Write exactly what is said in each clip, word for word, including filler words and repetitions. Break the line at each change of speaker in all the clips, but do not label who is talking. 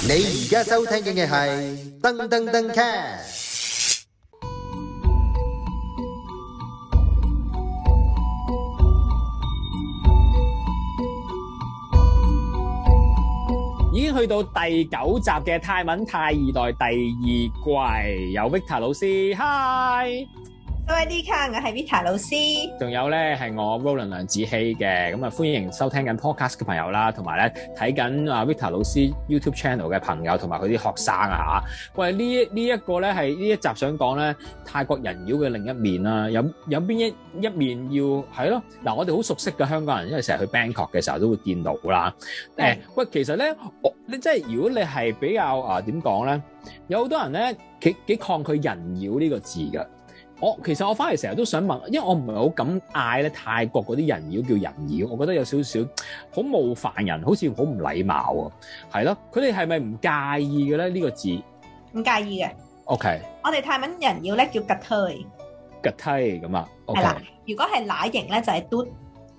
你而家收聽嘅係噔噔噔 cast。
已經去到第九集嘅泰文泰二代第二季，有 Vita 老師 ，Hi，
各位 D 卡，我係 Vita 老師，
仲有咧係我 Roland 梁子希嘅，咁啊歡迎收聽緊 podcast 嘅朋友啦，同埋咧睇緊啊 Vita 老師 YouTube channel 嘅朋友，同埋佢啲學生啊嚇。喂，呢呢一個咧係呢一集想講咧泰國人妖嘅另一面啦，有有邊一一面要係咯？嗱，我哋好熟悉嘅香港人，因為成日去 Bangkok 嘅時候都會見到啦。誒、欸，喂，其實咧，我你即係如果你係比較啊點講咧，有好多人咧幾幾抗拒人妖呢個字㗎。我其實我翻嚟成日都想問，因為我唔係好敢嗌咧泰國嗰啲人妖叫人妖，我覺得有少少好冒犯人，好似好唔禮貌喎。係咯，佢哋係咪唔介意嘅咧？呢、呢個字
唔介意嘅。
OK，
我哋泰文人妖咧叫吉推，
吉推咁啊。
係啦，如果係乸型咧就係嘟。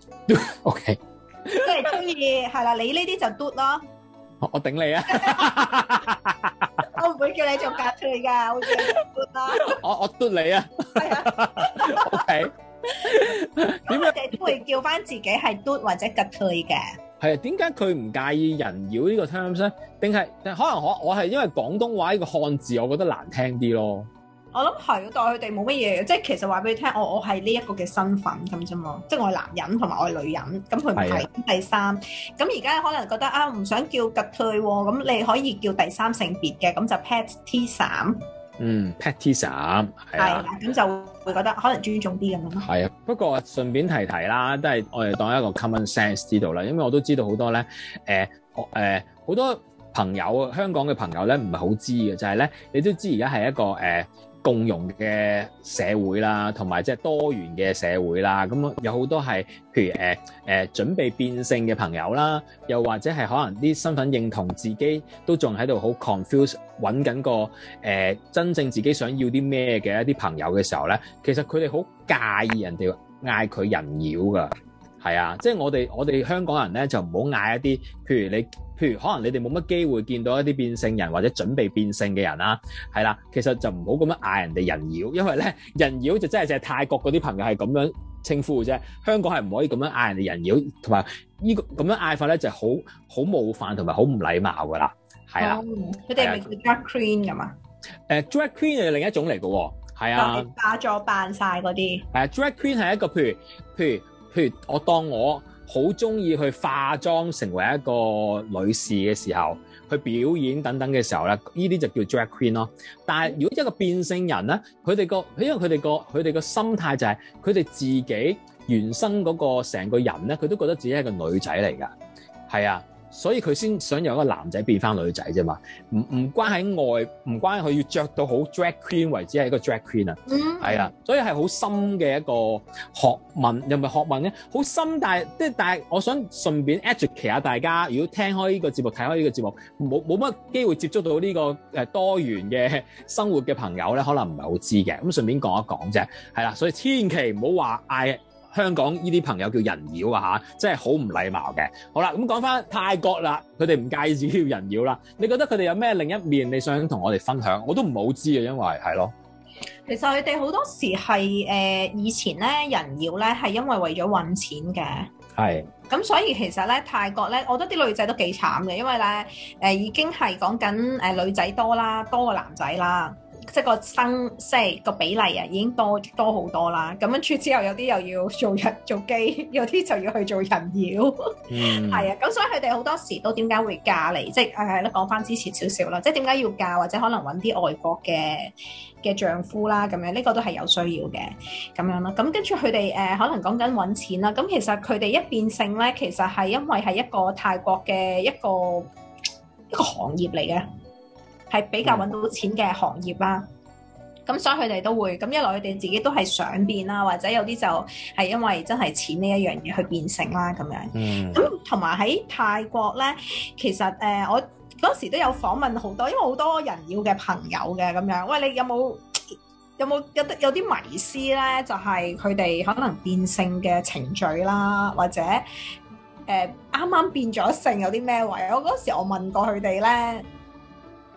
OK，
即係中意係啦，你呢啲就嘟咯。
我我頂你啊！
我唔會叫你做格推㗎，我會叫你做嘟啦。
我我嘟你啊！
係啊。
OK。
點解你都會叫翻自己係嘟或者格推嘅？
係啊，點解佢唔介意人妖呢個 terms 咧？定係可能我我係因為廣東話呢個漢字，我覺得難聽啲咯。
我諗係，但係佢哋冇乜嘢嘅，即係其實話俾你聽，我我係呢一個嘅身份咁啫嘛，即係我係男人同埋我係女人，咁佢唔係第三。咁而家可能覺得啊，唔想叫吉退喎，咁你可以叫第三性別嘅，咁就 Petisa。
嗯 ，Petisa 係啊，
咁就會覺得可能尊重啲咁樣咯。
係啊，不過順便提提啦，都係我哋當一個 common sense 知道啦，因為我都知道好多咧，誒誒好多朋友香港嘅朋友咧唔係好知嘅，就係、是、咧你都知而家係一個誒。呃共融嘅社會啦，同埋即係多元嘅社會啦，咁有好多係譬如誒誒、呃、準備變性嘅朋友啦，又或者係可能啲身份認同自己都仲喺度好 confuse， 揾緊個誒、呃、真正自己想要啲咩嘅一啲朋友嘅時候咧，其實佢哋好介意人哋嗌佢人妖噶，係啊，即係我哋我哋香港人咧就唔好嗌一啲譬如你。譬如可能你哋冇乜機會見到一啲變性人或者準備變性嘅人啦，係啦，其實就唔好咁樣嗌人哋人妖，因為咧人妖就真係淨係泰國嗰啲朋友係咁樣稱呼嘅啫，香港係唔可以咁樣嗌人哋人妖，同埋呢個咁樣嗌法咧就係好好冒犯同埋好唔禮貌噶啦，係啦。
佢哋係咪叫 drag queen 噶嘛？
誒 drag queen 係另一種嚟嘅喎，係啊，
化咗扮晒嗰啲。
係啊 drag queen 係一個譬如譬如譬如我當我。好中意去化妝成為一個女士嘅時候，去表演等等嘅時候咧，呢啲就叫 drag queen 咯。但係如果一個變性人咧，佢哋個因為佢哋個佢哋個心態就係佢哋自己原生嗰個成個人咧，佢都覺得自己係個女仔嚟㗎，係啊。所以佢先想由一個男仔變翻女仔啫嘛，唔唔關喺外，唔關佢要着到好 drag queen 為止係一個 drag queen 啊，係啊，所以係好深嘅一個學問，又唔係學問咧，好深，但係即係但係我想順便 educate 下大家，如果聽開呢個節目，睇開呢個節目，冇冇乜機會接觸到呢個誒多元嘅生活嘅朋友咧，可能唔係好知嘅，咁順便講一講啫，係啦，所以千祈唔好話嗌香港呢啲朋友叫人妖啊嚇，真係好唔禮貌嘅。好啦，咁講翻泰國啦，佢哋唔介意自己叫人妖啦。你覺得佢哋有咩另一面你想同我哋分享？我都唔好知啊，因為係咯。
其實佢哋好多時係誒、呃、以前咧人妖咧係因為為咗揾錢嘅。係。咁所以其實咧泰國咧，我覺得啲女仔都幾慘嘅，因為咧誒、呃、已經係講緊誒女仔多啦，多過男仔啦。即係個生即係個比例啊，已經多多好多啦。咁跟住之後有啲又要做人做基，有啲就要去做人妖。嗯，係啊。咁所以佢哋好多時都點解會嫁嚟？即係係咯，講翻之前少少啦。即係點解要嫁，或者可能揾啲外國嘅嘅丈夫啦，咁樣呢個都係有需要嘅咁樣啦。咁跟住佢哋誒可能講緊揾錢啦。咁其實佢哋一變性咧，其實係因為係一個泰國嘅一個一個行業嚟嘅。係比較揾到錢嘅行業啦，咁、嗯、所以佢哋都會咁一來，佢哋自己都係想變啦，或者有啲就係因為真係錢呢一樣嘢去變性啦咁樣。嗯，咁同埋喺泰國咧，其實誒、呃、我嗰時都有訪問好多，因為好多人妖嘅朋友嘅咁樣。喂，你有冇有冇有得有啲迷思咧？就係佢哋可能變性嘅程序啦，或者誒啱啱變咗性有啲咩位？我嗰時我問過佢哋咧。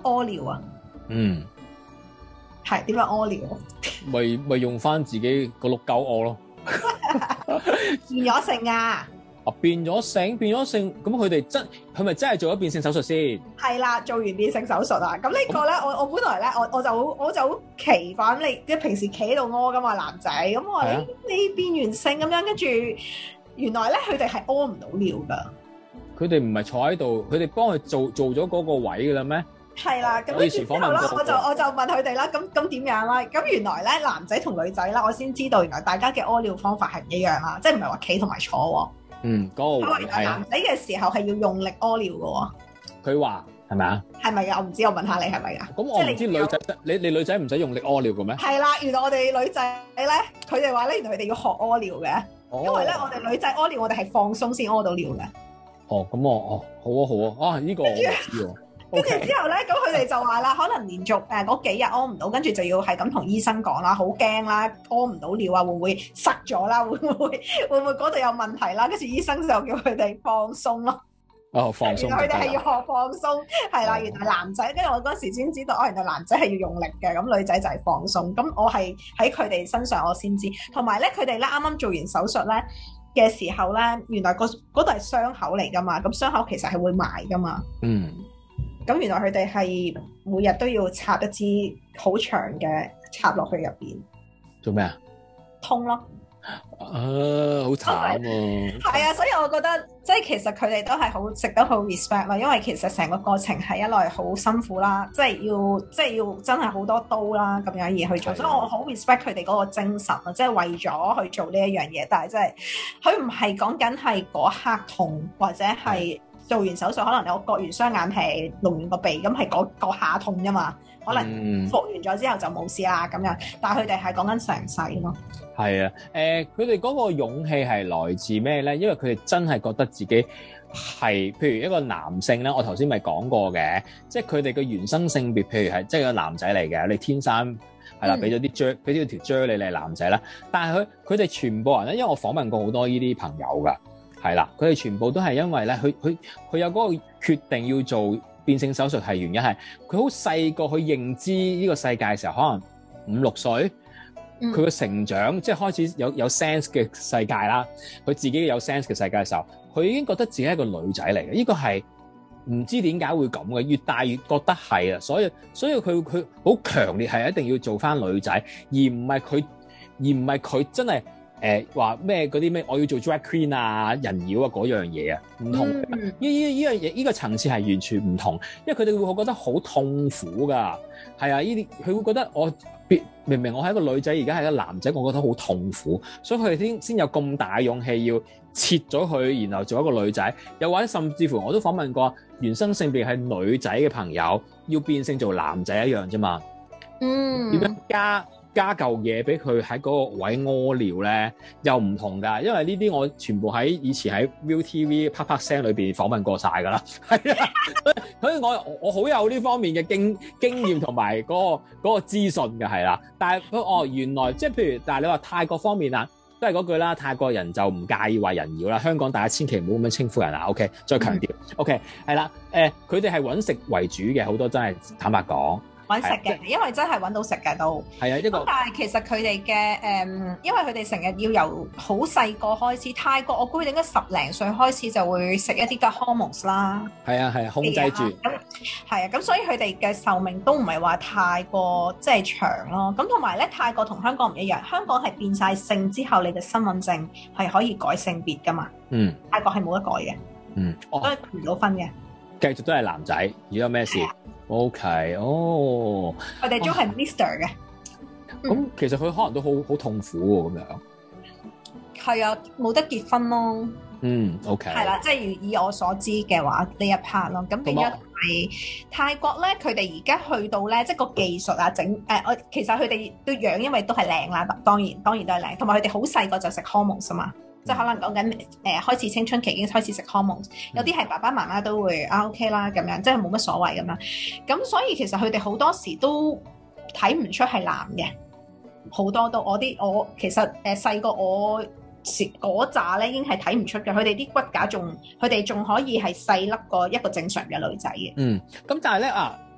屙尿啊？
嗯，
係點樣屙尿？
咪咪用翻自己個碌鳩屙咯。
變咗性啊！
啊，變咗性，變咗性，咁佢哋真，佢咪真係做咗變性手術先？
係啦，做完變性手術啊！咁呢個咧，我我本來咧，我我就好我就好奇怪咁，你即係平時企喺度屙噶嘛，男仔咁我話你你變完性咁樣，跟住原來咧佢哋係屙唔到尿噶。
佢哋唔係坐喺度，佢哋幫佢做做咗嗰個位噶啦咩？
係啦，咁跟住之後啦，我就我就問佢哋啦，咁咁點樣啦？咁原來咧男仔同女仔啦，我先知道原來大家嘅屙尿方法係唔一樣啦，即係唔係話企同埋坐喎。
嗯，嗰、那個位係
男仔嘅時候係要用力屙尿嘅喎。佢
話係咪啊？
係咪㗎？我唔知，我問下你係咪㗎？
咁我唔知女仔，你你女仔唔使用力屙尿嘅咩？
係啦，原來我哋女仔咧，佢哋話咧，原來佢哋要學屙尿嘅、哦，因為咧我哋女仔屙尿，我哋係放鬆先屙到尿嘅。哦，
咁我哦好啊好啊，啊呢、這個我唔知喎。
跟住之後咧，咁佢哋就話啦，可能連續誒嗰幾日屙唔到，跟住就要係咁同醫生講啦，好驚啦，屙唔到尿啊，會唔會塞咗啦？會唔會會唔會嗰度有問題啦？跟住醫生就叫佢哋放鬆咯。
哦，放鬆。原來
佢哋係要學放鬆，係啦。原來男仔，跟住我嗰時先知道，哦，原來男仔係要用力嘅，咁女仔就係放鬆。咁我係喺佢哋身上我先知，同埋咧佢哋咧啱啱做完手術咧嘅時候咧，原來個嗰度係傷口嚟噶嘛，咁傷口其實係會埋噶嘛。嗯。咁原來佢哋係每日都要插一支好長嘅插落去入邊，做咩啊？通咯。啊，好慘啊！係啊，所以我覺得即係其實佢哋都係好值得好 respect 啦，因為其實成個過程係一來好辛苦啦，即係要即係要真係好多刀啦咁樣而去做，所以我好 respect 佢哋嗰個精神啊，即係為咗去做呢一樣嘢，但係即係佢唔係講緊係嗰刻痛或者係。做完手術可能你我割完雙眼皮隆完個鼻咁係嗰嗰下痛啫嘛，可能復完咗之後就冇事啦咁樣，但係佢哋係講緊成世咯。係啊，誒佢哋嗰個勇氣係來自咩咧？因為佢哋真係覺得自己係譬如一個男性咧，我頭先咪講過嘅，即係佢哋嘅原生性別，譬如係即係個男仔嚟嘅，你天生係啦，俾咗啲啫，俾咗條啫你，你係男仔啦。但係佢佢哋全部人咧，因為我訪問過好多呢啲朋友㗎。係啦，佢哋全部都係因為咧，佢佢佢有嗰個決定要做變性手術，係原因係佢好細個去認知呢個世界嘅時候，可能五六歲，佢個成長、嗯、即係開始有有 sense 嘅世界啦，佢自己有 sense 嘅世界嘅時候，佢已經覺得自己係一個女仔嚟嘅。呢個係唔知點解會咁嘅，越大越覺得係啊，所以所以佢佢好強烈係一定要做翻女仔，而唔係佢而唔係佢真係。誒話咩嗰啲咩我要做 drag queen 啊人妖啊嗰樣嘢啊唔同，呢呢呢樣嘢呢個層次係完全唔同，因為佢哋會覺得好痛苦㗎，係啊，呢啲佢會覺得我明明我係一個女仔，而家係一個男仔，我覺得好痛苦，所以佢哋先先有咁大勇氣要切咗佢，然後做一個女仔，又或者甚至乎我都訪問過原生性別係女仔嘅朋友，要變性做男仔一樣啫嘛，嗯，點樣加？加嚿嘢俾佢喺嗰個位屙尿咧，又唔同㗎，因為呢啲我全部喺以前喺 Viu T V 啪啪聲裏邊訪問過晒㗎啦，係啊，所以我我好有呢方面嘅經經驗同埋嗰個嗰個資訊嘅係啦。但係哦，原來即係譬如，但係你話泰國方面啊，都係嗰句啦，泰國人就唔介意話人妖啦。香港大家千祈唔好咁樣稱呼人啊。OK， 再強調、嗯、OK 係啦，誒佢哋係揾食為主嘅，好多真係坦白講。揾食嘅，因為真係揾到食嘅都係啊，一個。咁但係其實佢哋嘅誒，因為佢哋成日要由好細個開始，泰國我估佢哋應該十零歲開始就會食一啲嘅 hormones 啦。係啊係啊，控制住。咁係啊，咁所以佢哋嘅壽命都唔係話太過即係長咯。咁同埋咧，泰國同香港唔一樣，香港係變晒性之後，你嘅身份證係可以改性別噶嘛。嗯。泰國係冇得改嘅。嗯。都係結唔到婚嘅。繼續都係男仔，如果有咩事。O K， 哦，佢哋都係 Mister 嘅，咁、嗯、其實佢可能都好好痛苦喎，咁樣。係啊，冇得結婚咯。嗯 ，O K。係啦，即係以我所知嘅話，呢一 part 咯，咁變咗係泰國咧，佢哋而家去到咧，即係個技術啊，整誒，我、呃、其實佢哋都樣，因為都係靚啦，當然當然都係靚，同埋佢哋好細個就食 hormones 啊嘛。即係可能講緊誒開始青春期已經開始食 hormones，有啲係爸爸媽媽都會啊 OK 啦咁樣，即係冇乜所謂咁樣。咁所以其實佢哋好多時都睇唔出係男嘅，好多都我啲我其實誒細個我嗰紮咧已經係睇唔出嘅，佢哋啲骨架仲佢哋仲可以係細粒過一個正常嘅女仔嘅。嗯，咁但係咧啊誒、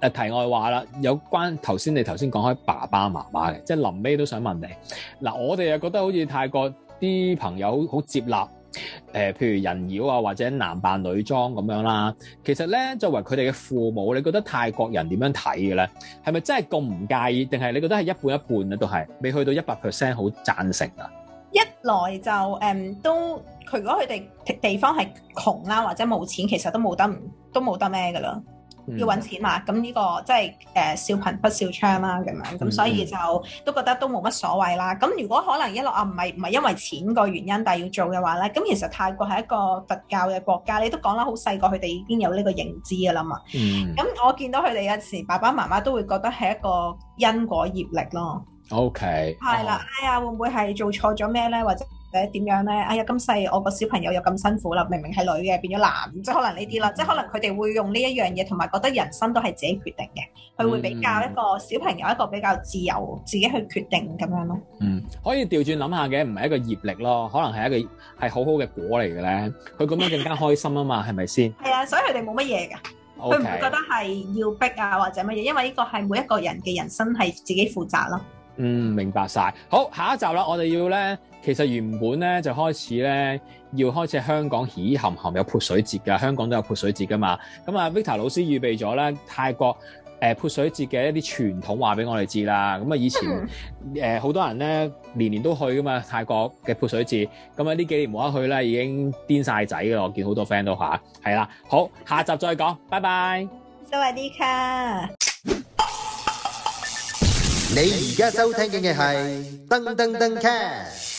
誒題外話啦，有關頭先你頭先講開爸爸媽媽嘅，即係臨尾都想問你嗱，我哋又覺得好似泰國啲朋友好接納誒、呃，譬如人妖啊，或者男扮女裝咁樣啦。其實咧，作為佢哋嘅父母，你覺得泰國人點樣睇嘅咧？係咪真係咁唔介意，定係你覺得係一半一半咧？都係未去到一百 percent 好贊成啊？
一來就誒、嗯、都佢如果佢哋地方係窮啦，或者冇錢，其實都冇得都冇得咩噶啦。要揾錢嘛，咁呢、這個即係誒笑貧不笑娼啦，咁樣咁所以就都覺得都冇乜所謂啦。咁如果可能一路啊唔係唔係因為錢個原因，但係要做嘅話咧，咁其實泰國係一個佛教嘅國家，你都講啦，好細個佢哋已經有呢個認知㗎啦嘛。咁、嗯、我見到佢哋有時爸爸媽媽都會覺得係一個因果業力咯。OK，係啦，哎呀會唔會係做錯咗咩咧，或者？誒點樣咧？哎呀，咁細我個小朋友又咁辛苦啦，明明係女嘅變咗男，即係可能呢啲啦，即係可能佢哋會用呢一樣嘢，同埋覺得人生都係自己決定嘅，佢會比較一個小朋友一個比較自由，自己去決定咁樣咯。嗯，可以調轉諗下嘅，唔係一個業力咯，可能係一個係好好嘅果嚟嘅咧。佢咁樣更加開心啊嘛，係咪先？係啊，所以佢哋冇乜嘢㗎，佢唔會覺得係要逼啊或者乜嘢，因為呢個係每一個人嘅人生係自己負責咯。嗯，明白晒。好，下一集啦，我哋要咧。其實原本咧就開始咧要開始香港喜含含有潑水節㗎，香港都有潑水節㗎嘛。咁啊 Victor 老師預備咗咧泰國誒潑水節嘅一啲傳統話俾我哋知啦。咁啊以前誒好、呃、多人咧年年都去㗎嘛泰國嘅潑水節。咁啊呢幾年冇得去咧已經癲晒仔㗎，我見好多 friend 都嚇係啦。好，下集再講，拜拜。สวัสดีค่ะ。
你而家收聽嘅係噔噔噔 cast。